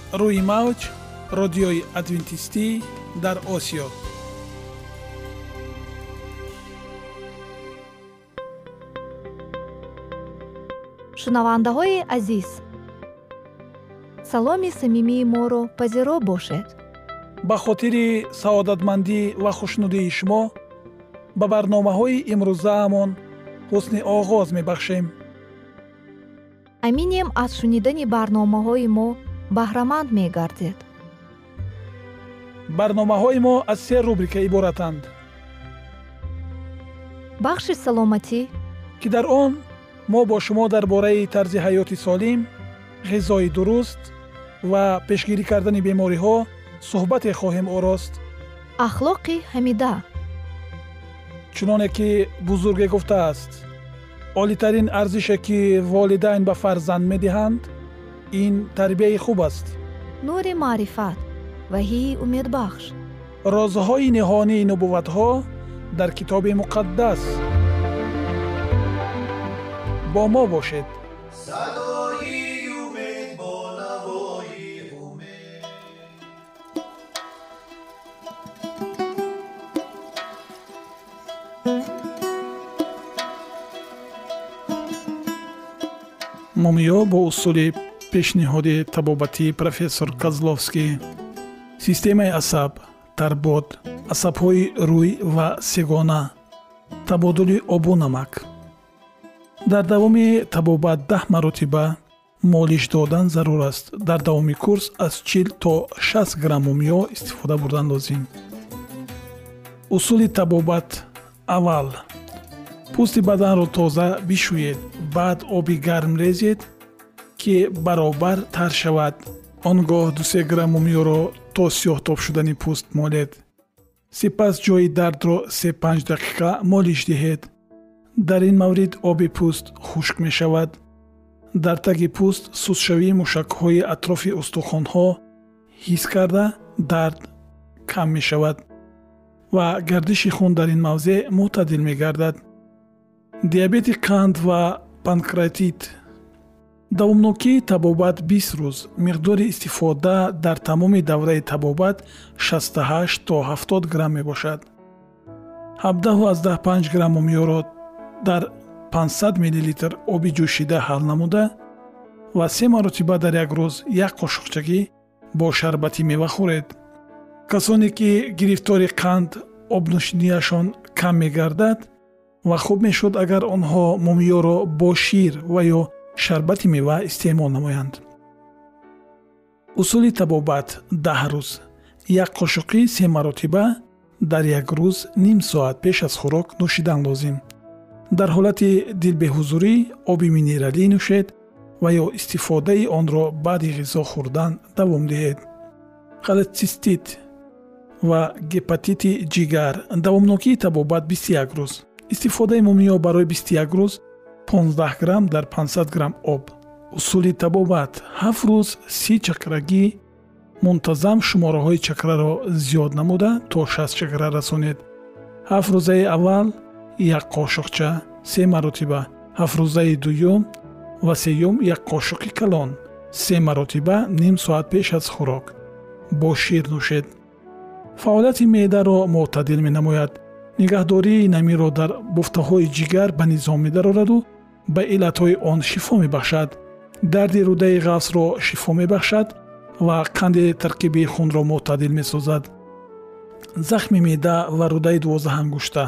روی موج رادیوی ادوینتیستی در آسیا. шунавандаҳои азиз, саломи самимии моро пазиро бошед. ба хотири саодатмандӣ ва хушнудии шумо ба барномаҳои имрӯзаамон ҳусни оғоз мебахшем. аминем аз шунидани барномаҳои мо баҳраманд мегардед. барномаҳои мо аз 3 рубрика иборатанд. бахши саломатӣ ки дар он мо бо шумо дар бораи тарзи ҳаёти солим, ғизои дуруст ва пешгирӣ кардани бемориҳо суҳбате хоҳем орост. ахлоқи ҳамида. чуноне ки бузурге гуфтааст, олитарин арзише ки волидайн ба фарзанд медиҳанд, ин тарбияи хуб аст. нури маърифат, ваҳии умедбахш. розҳои ниҳонии нубувватҳо дар китоби муқаддас. با ما باشد. صدای امید با نوای امید. مومیا با اصول پیشنهادی طبابتی پروفسور کازلوفسکی سیستم عصب، تربط، عصب‌های روی و سگانه، تبادل آب و نمک. дар давоми табобат 10 маротиба молиш додан зарур аст. дар давоми курс аз 40 то 60 грамм мумиё истифода бурдан лозим. усули табобат: аввал пӯсти баданро тоза бишӯед, баъд оби гарм резед ки баробар тар шавад. он гоҳ 2-3 грамм мумиёро то сиёҳтоб шудани пӯст молед. сипас ҷои дардро 3-5 дақиқа молиш диҳед. дар ин маврид оби пӯст хушк мешавад. дар таги пӯст сустшавии мушакҳои атрофи устухонҳо ҳис карда дард кам мешавад ва гардиши хун дар ин мавзеъ мӯътадил мегардад. диабети қанд ва панкреатит. давомнокии табобат 20 рӯз. миқдори истифода дар тамоми давраи табобат 68 то 70 грамм мебошад. 17-15 грамм мумиёро дар 500 мл оби ҷӯшида ҳал намуда ва 3 маротиба дар як рӯз як қошуқчагӣ бо шарбати мева хӯред. касоне ки гирифтори қанд обнӯшинияшон кам мегардад ва хуб мешуд агар онҳо мумиёро бо шир ва ё шарбати мева истеъмол намоянд. усули табобат 10 рӯз. як қошуқи 3 маротиба дар як рӯз ним соат пеш аз хӯрок нӯшидан лозим. дар ҳолати дилбеҳузурӣ оби минералӣ нӯшед ва ё истифодаи онро баъди ғизо хӯрдан давом диҳед. холецистит ва гепатити ҷигар. давомнокии табобат 21 рӯз. истифодаи мумиё барои 21 рӯз 15 грамм дар 500 грамм об. усули табобат 7 рӯз 30 чакрагӣ мунтазам шумораҳои чакраро зиёд намуда то 60 чакра расонед. 7 рӯзаи аввал як қошуқча 3 маротиба, 7 рӯзаи дуюм ва сеюм як қошуқи калон 3 маротиба ним соат пеш аз хӯрок бо шир нӯшед. фаъолияти меъдаро мӯътадил менамояд. нигаҳдории намиро дар буфтаҳои ҷигар ба низом медарояду ба иллатҳои он шифо мебахшад. дарди рӯдаи ғафсро шифо мебахшад ва қанди таркиби хунро мӯътадил месозад. захми меъда ва рӯдаи 12 ангушта.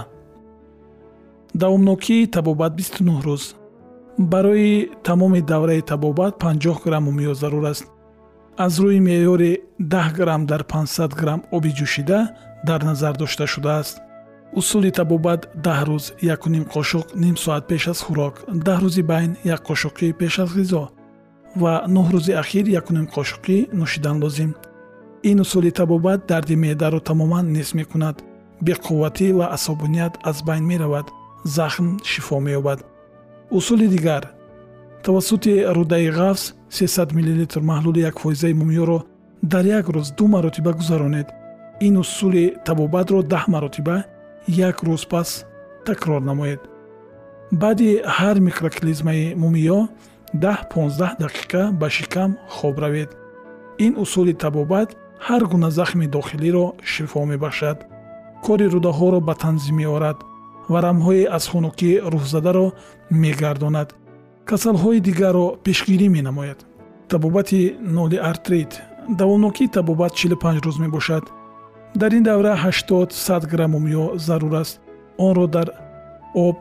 давомнокии табобат 29 рӯз. барои тамоми давраи табобат 50 грамм мумиё зарур аст. аз рӯи меъёри 10 грамм дар 500 грамм оби ҷӯшида дар назар дошта шудааст. усули табобат 10 рӯз 1.5 қошуқ ним соат пеш аз хӯрок, 10 рӯзи байн 1 қошуқи пеш аз ғизо ва 9 рӯзи ахир 1.5 қошуқи нӯшидан лозим. ин усули табобат дарди меъдаро тамоман нест мекунад. беқувватӣ ва асобиният аз байн меравад. захм шифо меёбад. усули дигар: тавассути рӯдаи ғафс 300 мл маҳлули 1% мумиёро дар як рӯз 2 маротиба гузаронед. ин усули табобатро 10 маротиба як рӯз пас такрор намоед. баъди ҳар микроклизмаи мумиё 10-15 дақиқа ба шикам хоб равед. این اصول طبابت هر گونه زخم داخلی را شفا می‌بخشد. کاری روده‌ها را به تنظیم می‌آورد. ورم‌های از خنکی روح‌زده را می‌گرداند. کسل‌های دیگر را پیشگیری می‌نماید. طبابت نولی ارتریت. دوامناکی طبابت 45 روز می‌باشد. در این دوره 80-100 گرم مومیا ضرور است. آن را در آب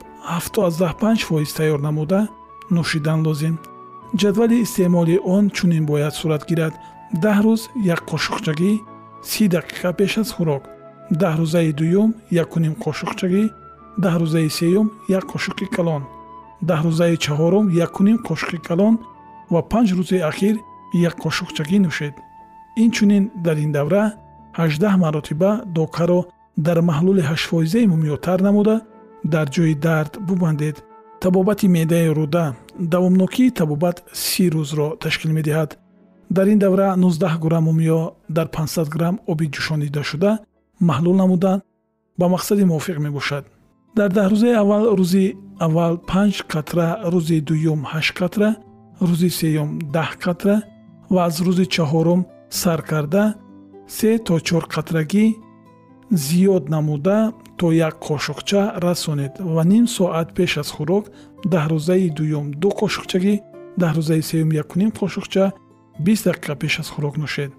75% تیار نموده نوشیدن لازم. جدول استعمال آن چنین باید صورت گیرد: 10 روز یک قاشقچگی 30 دقیقه پیش از خوراک، 10 روزه دوم 1.5 قاشقچگی، 10 روزه سوم 1 قاشق کلان، 10 روزه چهارم 1.5 قاشق کلان و 5 روز اخیر 1 قاشقچگی نوشید. این چنین در این دوره 18 مرتبه داکه را در محلول 8% مومیا تر نموده در جای درد ببندید. طبابت معده روده. دوامناکی طبابت 30 روز را تشکیل می‌دهد. در این دوره 19 گرم مومیا در 500 گرم آب جوشانیده شده محلول نمودن با مقصد موافق میباشد. در 10 روز اول روزی اول 5 قطره، روزی دوم 8 قطره، روزی سوم 10 قطره و از روز چهارم سر کرده 3 تا 4 قطرگی زیاد نموده تا 1 قاشقچه رسانید و نیم ساعت پیش از خوراک 10 روزه دوم 2 قاشقچگی، 10 روزه سوم 1.5 قاشقچه 20 دقیقه پیش از خوراک نوشید.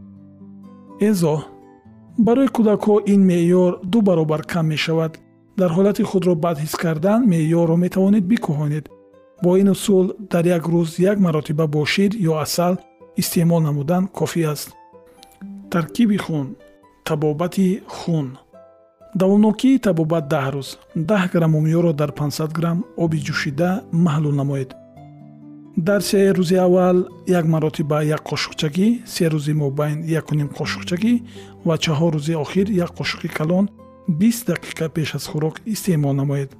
ازا برای کودک‌ها این معیار 2 برابر کم می شود. در حالت خود را بد حس کردن معیار را می توانید بکاهانید. با این اصول در یک روز 1 مرتبه با شیر یا عسل استعمال نمودن کافی است. ترکیب خون. طبابت خون. دوامناکی طبابت 10 روز. 10 گرم مومیا را در 500 گرم آب جوشیده محلول نمایید. در 3 روز اول 1 مرتبه 1 قاشقچگی، 3 روز مابین 1.5 قاشقچگی و 4 روز آخر 1 قاشق کلان 20 دقیقه پیش از خوراک استعمال نمایید.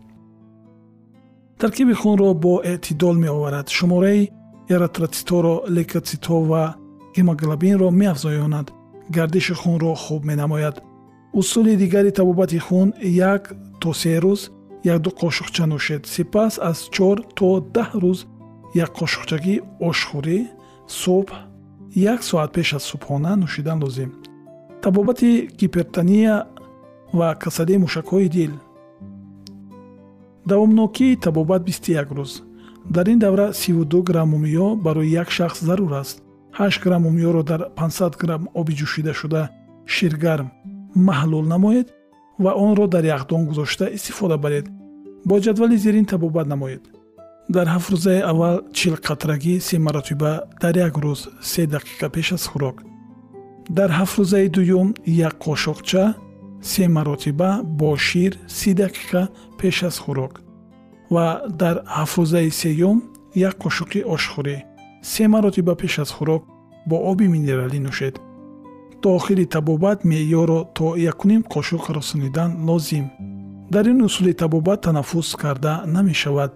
ترکیب خون را با اعتدال می آورد. شماره اریتروسیت‌ها را، لیوکوسیت‌ها و هموگلوبین را می افزایاند. گردش خون را خوب می نماید. اصول دیگری طبابت خون 1 تا 3 روز 1-2 قاشقچه نوشید. سپس از 4 تا 10 روز 1 قاشقچگی آشخوری صبح 1 ساعت پیش از صبحانه نوشیدن لازم. طبابت هیپرتونیا و کساده موشک‌های دل. دوامناکی طبابت 21 روز. در این دوره 32 گرم مومیا برای یک شخص ضرور است. 8 گرم مومیا را در 500 گرم آب جوشیده شده شیرگرم محلول نمایید و آن را در یخدان گذاشته استفاده برید. با جدول زیرین طبابت نمایید. در 7 روز اول 40 قطرگی 3 مرتبه در یک روز 3 دقیقه پیش از خوراک. در 7 روز دوم 1 قاشقچه 3 مرتبه با شیر 30 دقیقه پیش از خوراک و در 7 روز سوم 1 قاشق آشخوری 3 مرتبه پیش از خوراک با آب مینرالی نوشید. تا آخر طبابت معیار را تا 1.5 قاشق رسانیدن لازم. در این اصول طبابت تنفس کرده نمی شود.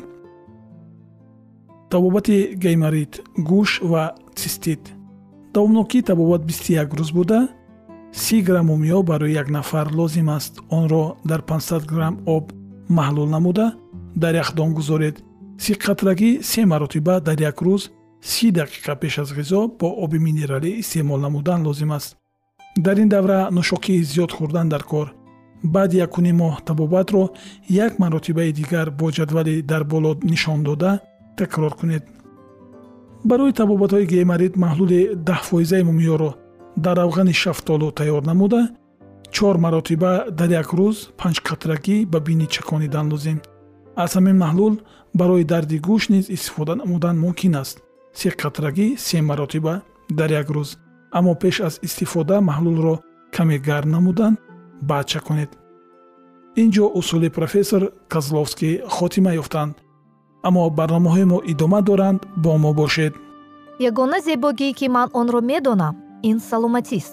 طبابت گیمریت، گوش و سیستیت. دوامناکی طبابت 21 روز بوده. 30 گرم مومیا برای یک نفر لازم است. آن را در 500 گرم آب محلول نموده در یخدان گذارید. 30 قطرگی 3 مرتبه در یک روز 30 دقیقه پیش از غذا با آب مینرالی استعمال نمودن لازم است. در این دوره نوشاکی زیاد خوردن در کار. بعد 1.5 ماه طبابت را 1 مرتبه دیگر با جدول در بالا نشان داده تکرار کنید. برای طبابت‌های گیمریت محلول 10% مومیا را در روغن شفتالو تیار نموده 4 مرتبه در یک روز 5 قطرگی به بینی چکانیدن لازم. از همین محلول برای درد گوش نیز استفاده نمودن ممکن است. 3 قطرگی 3 مرتبه در یک روز. اما پیش از استفاده محلول را کمی گرم نمودن بعد چکانید. اینجا اصول پروفسور کازلوفسکی خاتمه یافتند. اما برنامه‌های ما ادامه دارند. با ما باشید. ягона зебогие ки ман онро медонам ин саломатист.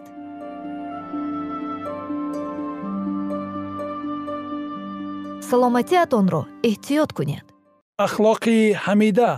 саломатиатонро эҳтиёт кунед. اخلاقی حمیده.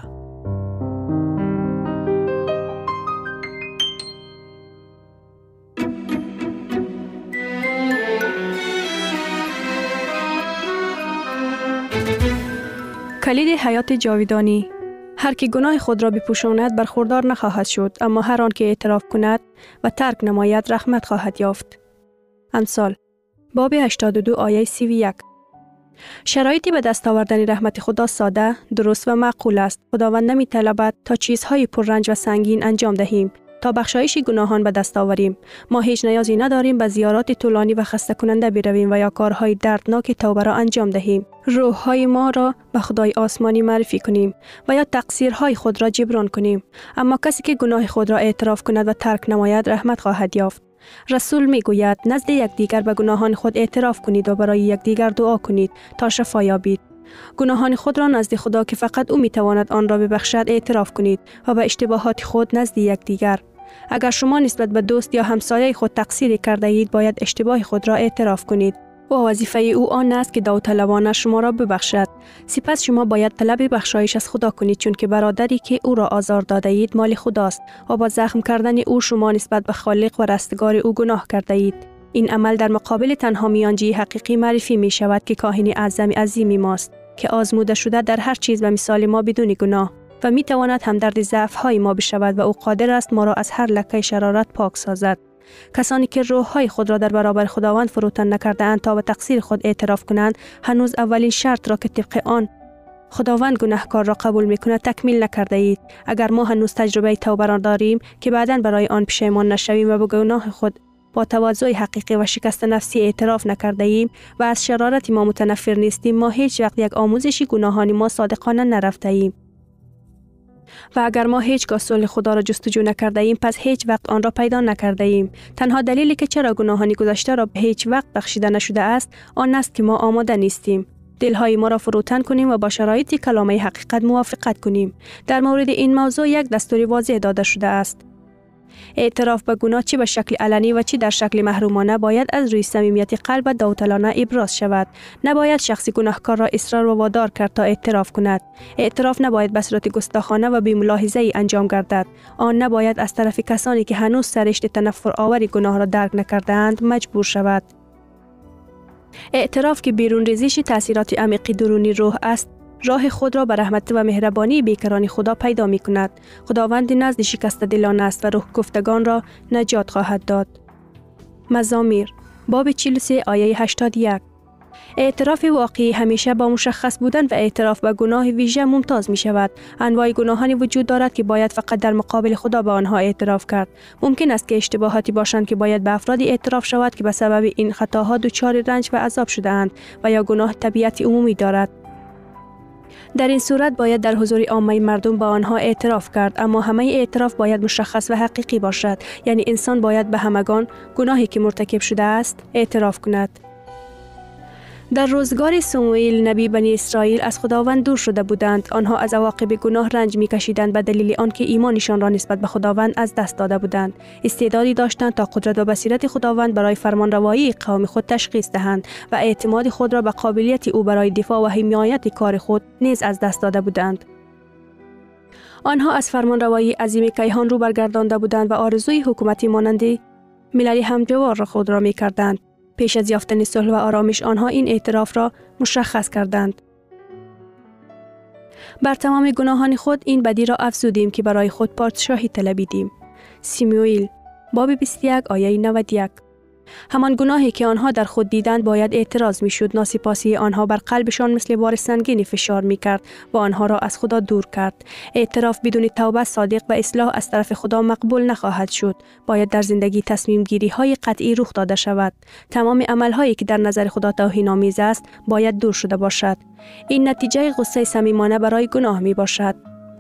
کلید حیات جاودانی. هر که گناه خود را بپوشاند برخوردار نخواهد شد، اما هر آن که اعتراف کند و ترک نماید رحمت خواهد یافت. امثال باب 82 آیه 31. شرایطی به دست آوردن رحمت خدا ساده، درست و معقول است. خداوند نمی طلبد تا چیزهای پررنج و سنگین انجام دهیم تا بخشایش گناهان به دست آوریم. ما هیچ نیازی نداریم به زیارات طولانی و خسته کننده برویم و یا کارهای دردناک توبه را انجام دهیم. روح‌های ما را به خدای آسمانی معرفی کنیم و یا تقصیرهای خود را جبران کنیم. اما کسی که گناه خود را اعتراف کند و ترک نماید رحمت خواهد یافت. رسول می گوید نزد یکدیگر به گناهان خود اعتراف کنید و برای یکدیگر دعا کنید تا شفا یابید. گناهان خود را نزد خدا که فقط او می تواند آن را ببخشد اعتراف کنید و به اشتباهات خود نزد یکدیگر. اگر شما نسبت به دوست یا همسایه خود تقصیری کرده اید باید اشتباه خود را اعتراف کنید و وظیفه او آن است که داوطلبانه شما را ببخشد. سپس شما باید طلب بخشایش از خدا کنید، چون که برادری که او را آزار داده اید مال خداست و با زخم کردن او شما نسبت به خالق و رستگار او گناه کرده اید. این عمل در مقابل تنها میانجی حقیقی معرفی می شود که کاهن اعظم عظیمی ماست که آزموده شده در هر چیز به مثال ما بدون گناه و می تواند همدرد ضعف‌های ما بشود و او قادر است ما را از هر لکه شرارت پاک سازد. کسانی که روح‌های خود را در برابر خداوند فروتن نکرده‌اند تا به تقصیر خود اعتراف کنند، هنوز اولین شرط را که طبق آن خداوند گناهکار را قبول می‌کند تکمیل نکرده اید. اگر ما هنوز تجربه توبه را داریم که بعداً برای آن پشیمان نشویم و به گناه خود با تواضع حقیقی و شکست نفسی اعتراف نکرده ایم و از شرارت ما متنفر نیستیم، ما هیچ وقت یک آموزش گناهان ما صادقانه نرفته ایم. و اگر ما هیچگاه صلح خدا را جستجو نکرده ایم پس هیچ وقت آن را پیدا نکرده ایم. تنها دلیلی که چرا گناهان گذشته را هیچ وقت بخشیده نشده است آن است که ما آماده نیستیم. دلهای ما را فروتن کنیم و با شرایط کلامه حقیقت موافقت کنیم. در مورد این موضوع یک دستور واضح داده شده است. اعتراف به گناه چه به شکل علنی و چه در شکل محرومانه باید از روی صمیمیت قلب و داوطلبانه ابراز شود. نباید شخصی گناهکار را اصرار و وادار کرد تا اعتراف کند. اعتراف نباید به صورت گستاخانه و بی ملاحظه ای انجام گردد. آن نباید از طرف کسانی که هنوز سرشت تنفر آور گناه را درک نکرده‌اند مجبور شود. اعتراف که بیرون ریزش تأثیرات عمیق درونی روح است، راه خود را به رحمت و مهربانی بیکران خدا پیدا می کند. خداوند نزد شکسته دلان است و روح گفتگان را نجات خواهد داد. مزامیر باب 43 آیه 81. اعتراف واقعی همیشه با مشخص بودن و اعتراف به گناه ویژه ممتاز می شود. انواع گناهانی وجود دارد که باید فقط در مقابل خدا به آنها اعتراف کرد. ممکن است که اشتباهاتی باشند که باید به افرادی اعتراف شود که به سبب این خطاها دچار رنج و عذاب شده اند و یا گناه طبیعت عمومی دارد. در این صورت باید در حضور عامه مردم با آنها اعتراف کرد، اما همه اعتراف باید مشخص و حقیقی باشد. یعنی انسان باید به همگان گناهی که مرتکب شده است اعتراف کند. در روزگار سموئیل نبی بنی اسرائیل از خداوند دور شده بودند. آنها از عواقب گناه رنج می‌کشیدند به دلیل آنکه ایمانشان را نسبت به خداوند از دست داده بودند. استعدادی داشتند تا قدرت و بصیرت خداوند برای فرمانروایی قوم خود تشخیص دهند و اعتماد خود را به قابلیت او برای دفاع و حمایت کار خود نیز از دست داده بودند. آنها از فرمانروایی عظیم کیهان رو برگردانده بودند و آرزوی حکومتی مانند ملل همجوار خود را می‌کردند. پیش از یافتن صلح و آرامش آنها این اعتراف را مشخص کردند. بر تمام گناهان خود این بدی را افزودیم که برای خود پادشاهی طلبیدیم. سموئیل باب 21 آیه 91. همان گناهی که آنها در خود دیدند باید اعتراض می شد. ناسپاسی آنها بر قلبشان مثل بار سنگینی فشار می کرد و آنها را از خدا دور کرد. اعتراف بدون توبه صادق و اصلاح از طرف خدا مقبول نخواهد شد. باید در زندگی تصمیم گیری های قطعی رخ داده شود. تمام عمل هایی که در نظر خدا توهین‌آمیز است باید دور شده باشد. این نتیجه غصه صمیمانه برای گناه می باشد.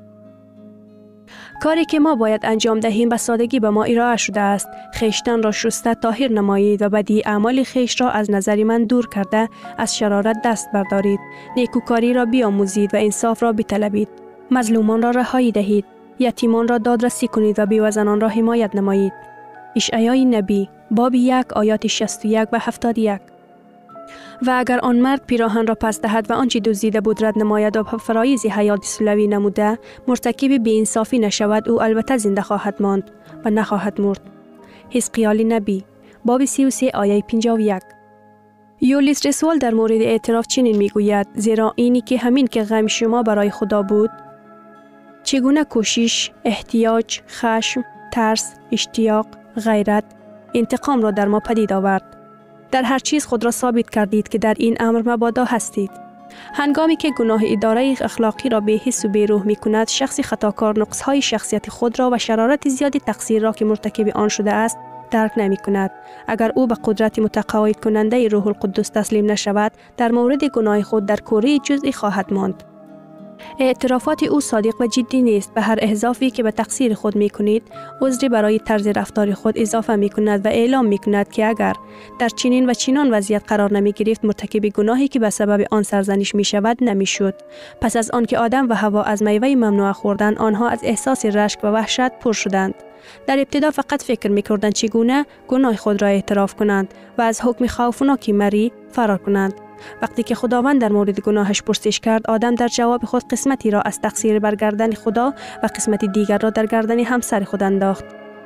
کاری که ما باید انجام دهیم به سادگی به ما ارائه شده است. خویشتن را شسته طاهر نمایید و بدی اعمال خویش را از نظر من دور کرده از شرارت دست بردارید. نیکوکاری را بیاموزید و انصاف را بطلبید. مظلومان را رهایی دهید. یتیمان را دادرسی کنید و بیوزنان را حمایت نمایید. اشعیای نبی باب 1 آیات 61 و 71. و اگر آن مرد پیراهن را پس دهد و آنچه دزدیده بود رد نماید و فرایض حیات سلوی نموده مرتکب بی‌انصافی نشود، او البته زنده خواهد ماند و نخواهد مرد. حزقیال نبی باب 33 آیه 51. یولیس رسول در مورد اعتراف چنین میگوید: زیرا اینی که همین که غم شما برای خدا بود چگونه کوشش، احتیاج، خشم، ترس، اشتیاق، غیرت، انتقام را در ما پدید آورد. در هر چیز خود را ثابت کردید که در این امر مبادا هستید. هنگامی که گناه اداره اخلاقی را به حس و به روح می کند، شخصی خطاکار نقصهای شخصیت خود را و شرارت زیاد تقصیر را که مرتکب آن شده است درک نمی کند. اگر او به قدرت متقاعد کننده روح القدس تسلیم نشود، در مورد گناه خود در کوره جزئی خواهد ماند. اعترافات او صادق و جدی نیست. به هر اضافی که به تقصیر خود می کنید، عذری برای طرز رفتار خود اضافه می کند و اعلام می کند که اگر در چنین و چنان وضعیت قرار نمی گرفت، مرتکب گناهی که به سبب آن سرزنش می شود نمی شد. پس از آن که آدم و حوا از میوه ممنوع خوردند، آنها از احساس رشک و وحشت پر شدند. در ابتدا فقط فکر می کردند چگونه گناه خود را اعتراف کنند و از حکم خوفناکی مری فرار کنند. وقتی که خداوند در مورد گناهش پرسش کرد، آدم در جواب خود قسمتی را از تقصیر بر گردن خدا و قسمتی دیگر را در گردن همسر خود انداخت.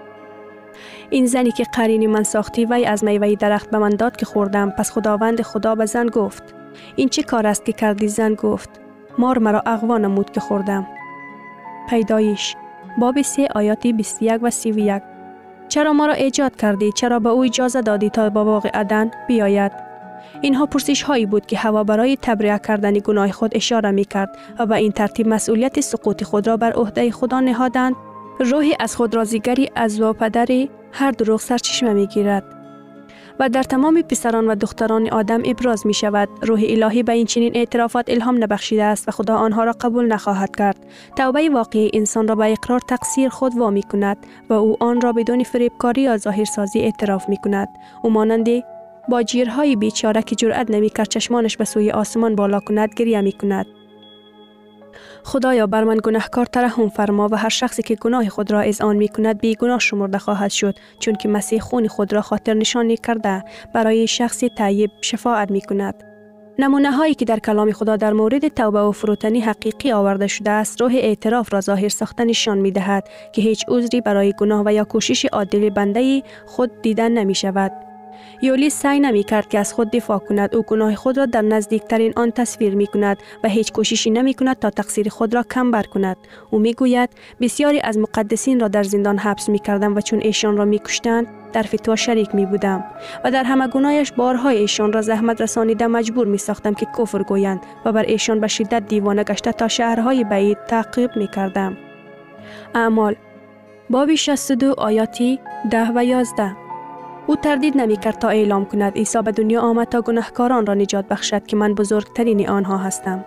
این زنی که قرین من ساختی، وی از میوه درخت به من داد که خوردم. پس خداوند خدا به زن گفت: این چه کار است که کردی؟ زن گفت: مار مرا اغوا نمود که خوردم. پیدایش باب 3 آیات 21 و 31. چرا ما را ایجاد کردی؟ چرا به او اجازه دادی تا به باغ عدن بیاید؟ اینها پرسش هایی بود که حوا برای تبرئه کردن گناه خود اشاره می کرد و به این ترتیب مسئولیت سقوط خود را بر عهده خدا نهادند. روحی از خود رازیگری از و پدر هر دروغ سرچشمه می گیرد و در تمام پسران و دختران آدم ابراز می شود. روح الهی به این چنین اعترافات الهام نبخشیده است و خدا آنها را قبول نخواهد کرد. توبه واقعی انسان را به اقرار تقصیر خود وامی کند و او آن را بدون فریبکاری یا ظاهرسازی اعتراف می کند. او مانند با جیرهای بیچاره که جرأت نمی کرد چشمانش به سوی آسمان بالا کند گریه می کند: خدایا بر من گناهکار ترحم فرما و هر شخصی که گناه خود را اذعان می کند بی گناه شمرده خواهد شد، چون که مسیح خون خود را خاطر نشانی کرده برای شخص طیب شفاعت می کند. نمونه هایی که در کلام خدا در مورد توبه و فروتنی حقیقی آورده شده است، روح اعتراف را ظاهر ساخته نشان می دهد که هیچ عذری برای گناه و یا کوشش عادل بنده خود دیدن نمی شود. یولیس سعی نمی کرد که از خود دفاع کند. او گناه خود را در نزدیکترین آن تصویر می کند و هیچ کوششی نمی کند تا تقصیر خود را کم بر کند. او می گوید: بسیاری از مقدسین را در زندان حبس می کردم و چون ایشان را می کشتند در فتوا شریک می بودم و در همه گناهش بارهای ایشان را زحمت رسانیده مجبور می ساختم که کفر گویند و بر ایشان به شدت دیوانه گشته تا شهرهای بعید تعقیب می کردم. اعمال باب 62 آیات 10 و 11. او تردید نمی کرد تا اعلام کند: عیسی به دنیا آمد تا گناهکاران را نجات بخشد که من بزرگترین آنها هستم.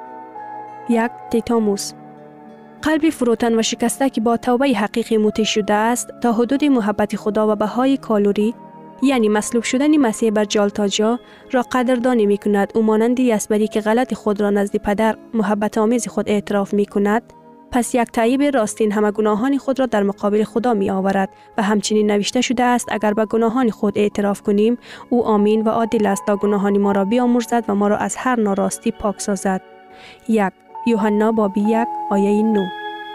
1 تیتوموس. قلب فروتن و شکسته که با توبه حقیقی موتی شده است تا حدود محبت خدا و بهای کالوری، یعنی مصلوب شدن مسیح بر جالتاجا را قدردانی می کند. او مانند یسبری که غلط خود را نزد پدر محبت آمیز خود اعتراف می کند، پس یک طیب راستین همه گناهان خود را در مقابل خدا می آورد و همچنین نوشته شده است: اگر به گناهان خود اعتراف کنیم، او آمین و عادل است تا گناهان ما را بیامرزد و ما را از هر ناراستی پاک سازد. 1 یوحنا باب 1 آیه 9.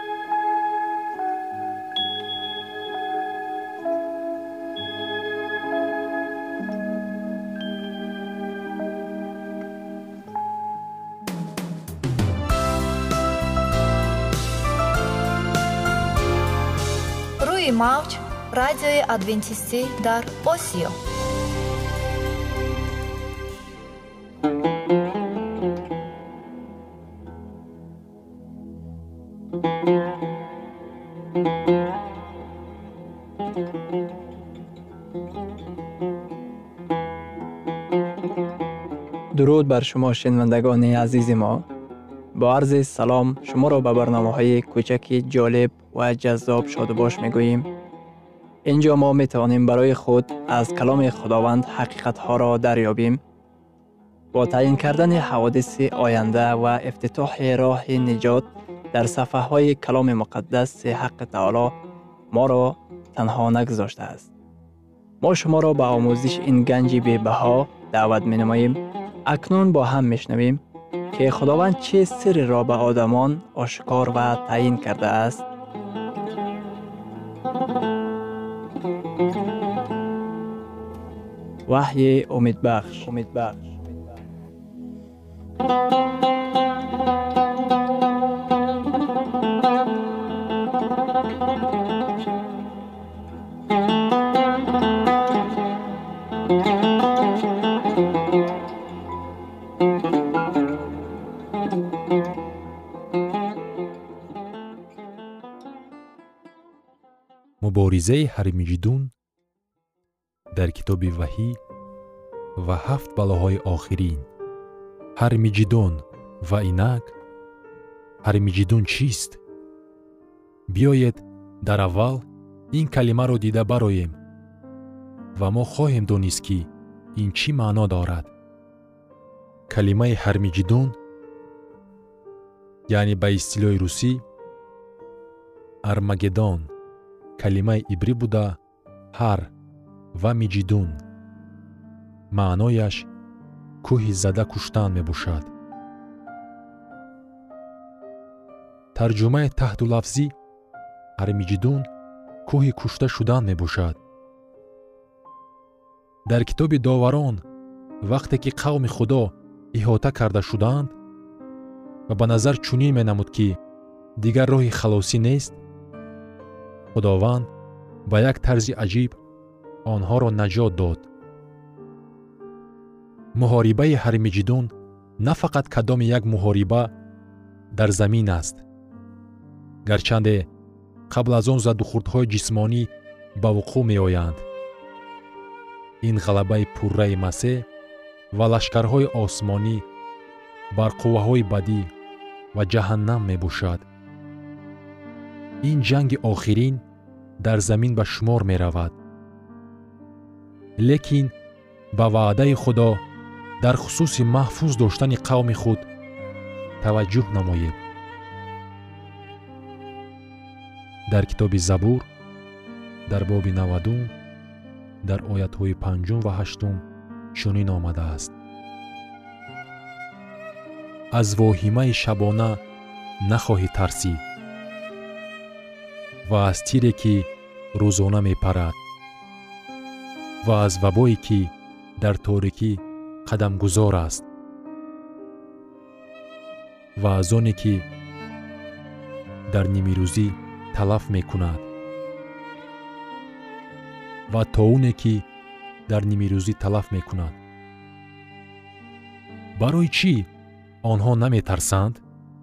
روی موج رادیوی ادوینتیستی در آسیا. درود بر شما شنوندگان عزیز ما. با عرض سلام شما را به برنامه‌های کوچک جالب و جذاب شادباش می‌گوییم. اینجا ما می‌توانیم برای خود از کلام خداوند حقیقت‌ها را دریابیم. با تعیین کردن حوادث آینده و افتتاح راه نجات در صفحه‌های کلام مقدس، حق تعالی ما را تنها نگذاشته است. ما شما را به آموزش این گنج بی‌بها دعوت می‌نماییم. اکنون با هم می‌شنویم که خداوند چه سر را به آدمان آشکار و تعیین کرده است. وحی امیدبخش. مبارزه هرمجدون در کتاب وحی و 7 بلاهای آخرین. هرمجدون و اینک هرمجدون چیست؟ بیایید در اول این کلمه را دیده برایم و ما خواهیم دانست که این چی معنا دارد. کلمه هرمجدون یعنی به اصطلاح روسی ارمگدون کلمه عبری بوده هر و مجدون معنایش کوه زده کشتن می باشد. ترجمه تحت لفظی ارمجدون کوه کشته شدن می باشد. در کتاب داوران وقتی که قوم خدا احاطه کرده شدند و به نظر چنین می نمود که دیگر راه خلاصی نیست، خداوند با یک طرز عجیب آنها را نجات داد. محاربه هرمجدون نه فقط کدام یک محاربه در زمین است، گرچند قبل از آن زد و خوردهای جسمانی به وقوع می آیند. این غلبه پرره مسیح و لشکرهای آسمانی بر قوه‌های بدی و جهنم می باشد. این جنگ آخرین در زمین به شمار می رود. لیکن به وعده خدا در خصوص محفوظ داشتن قوم خود توجه نمایید. در کتاب زبور در باب 90 در آیت‌های 5 و 8 چنین آمده است: از واهمه شبانه نخواهی ترسید و از تیری که روزانه می پرد و از وبایی که در تاریکی قدم گذار است و از آنی که در نیمه روزی تلف می کند و طاعونی که در نیمه روزی تلف می کند. برای چی آنها نمی ترسند؟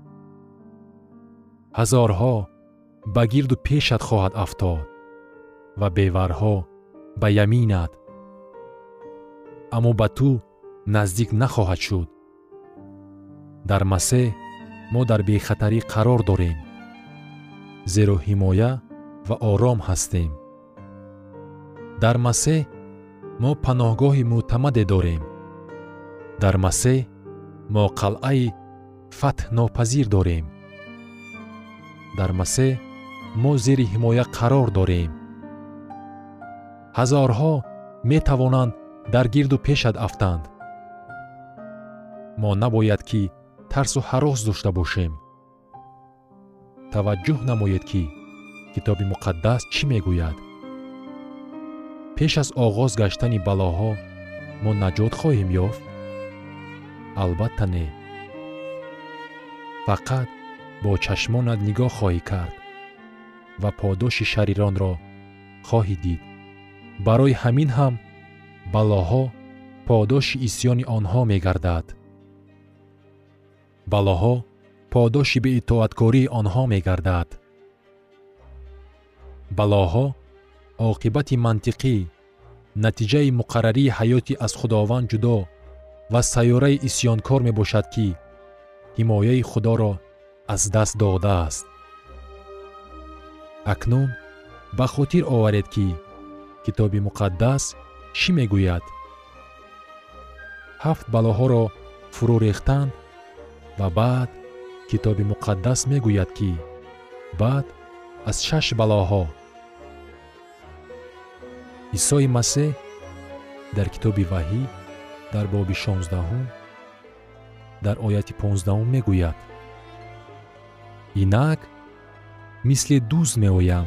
هزارها به گرد و پیشت خواهد افتاد و بیورها به یمینت، اما به تو نزدیک نخواهد شد. در مسیح ما در بیخطری قرار داریم، زیرا حمایه و آرام هستیم. در مسیح ما پناهگاه معتمد داریم. در مسیح ما قلعه فتح ناپذیر داریم. در مسیح ما زیر حمایه قرار داریم. هزارها می توانند در گرد و پیشت افتند. ما نباید که ترس و هراس داشته باشیم. توجه نمایید که کتاب مقدس چی می گوید. پیش از آغاز گشتن بلاها ما نجات خواهیم یافت؟ البته نه. فقط با چشمانت نگاه خواهی کرد و پاداش شریران را خواهی دید. برای همین هم بلاها پاداش عصیان آنها می گردد. بلاها پاداش به اطاعتکاری آنها می گردد. بلاها عاقبت منطقی، نتیجه مقرری حیاتی از خداوند جدا و سیاره عصیانکار می باشد که حمایه خدا را از دست داده است. اکنون به خاطر آورید که کتاب مقدس چی می گوید؟ 7 بلاها را فرو ریختند و بعد کتاب مقدس می گوید که بعد از 6 بلاها عیسی مسیح در کتاب وحی در باب 16 در آیت 15 می گوید: اینک مثل دوز می آیم.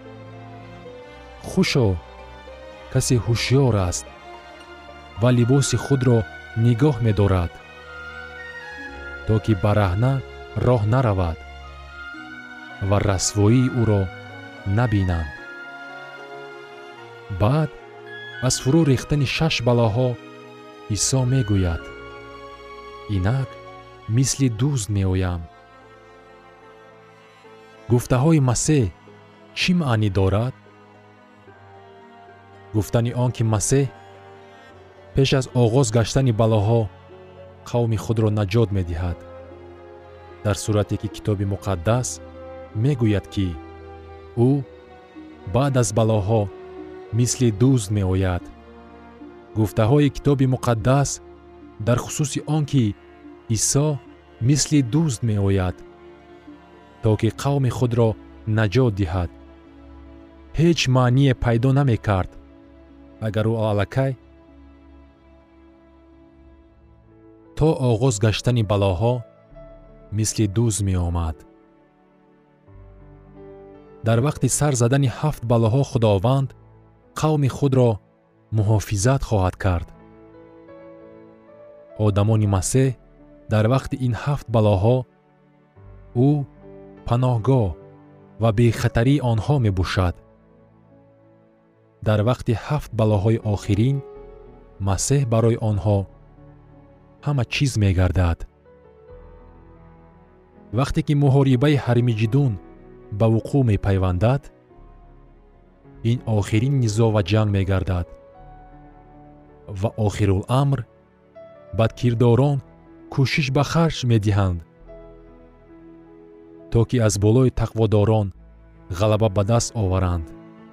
خوشا کسی هوشیار است و لباس خود را نگاه می دارد تا که برهنه راه نرود و رسوایی او را نبینند. بعد از فرو ریختن 6 بلاها عیسی می گوید: اینک مثل دوز می آیم. گفته های مسیح چی معنی دارد؟ گفتن آن که مسیح پیش از آغاز گشتن بلاها قوم خود را نجات می دهد. در صورتی که کتاب مقدس می گوید که او بعد از بلاها مثل دزد می آید. گفته های کتاب مقدس در خصوص آن که عیسی مثل دزد می آید تا که قوم خود را نجات دهد هیچ معنی پیدا نمی کرد اگر او الکی تا آغاز گشتن بلاها مثل دزد می آمد. در وقت سر زدن 7 بلاها خداوند قوم خود را محافظت خواهد کرد. آدمان مسیح در وقت این 7 بلاها او پناهگاه و بی خطری آنها می باشد. در وقت 7 بلاهای آخرین مسیح برای آنها همه چیز می گردد. وقتی که محاربه هرمجدون به وقوع می پیوندد این آخرین نزاع و جنگ می گردد و آخرالامر بدکرداران کوشش به خرج می دهند تا که از بالای تقواداران غلبه به دست آورند.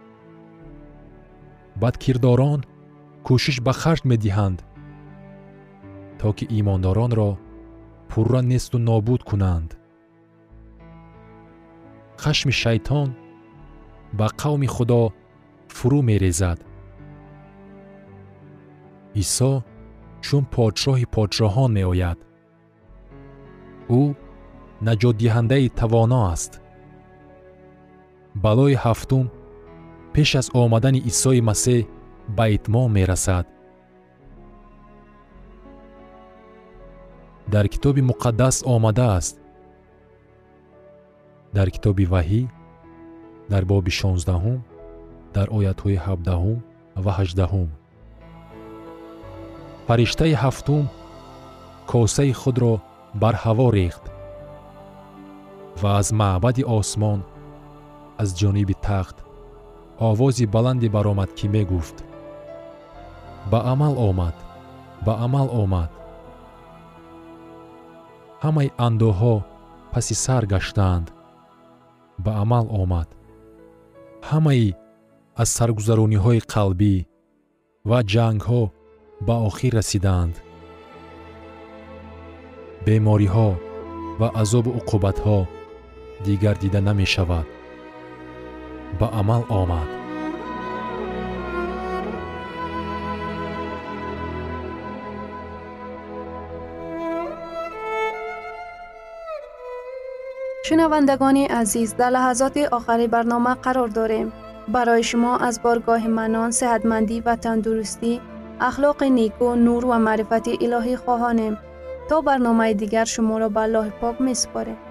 بدکرداران کوشش به خرج می دهند تا که ایمانداران را پررا نیست و نابود کنند. خشم شیطان به قوم خدا فرو می ریزد. عیسی چون پادشاه پادشاهان می آید. او نجات دهنده توانا است. بلای هفتم پیش از آمدن عیسی مسیح به اتمام می رسد. در کتاب مقدس آمده است. در کتاب وحی در باب 16 در آیت‌های 17 و 18 فرشته هفتم کاسه خود را بر هوا ریخت و از معبد آسمان از جانب تخت آوازی بلندی برآمد که می گفت به عمل آمد، به عمل آمد. همه اندوها پس سر گشتند، به عمل آمد. همه از سرگذرانی های قلبی و جنگ ها به آخر رسیدند. بیماری ها و عذاب و عقوبت ها دیگر دیده نمی شود. به عمل آمد. شنوندگان عزیز، در لحظات آخری برنامه قرار داریم. برای شما از بارگاه منان، صحتمندی و تندرستی، اخلاق نیکو، نور و معرفت الهی خواهانیم. تا برنامه دیگر شما را به الله پاک می‌سپاریم.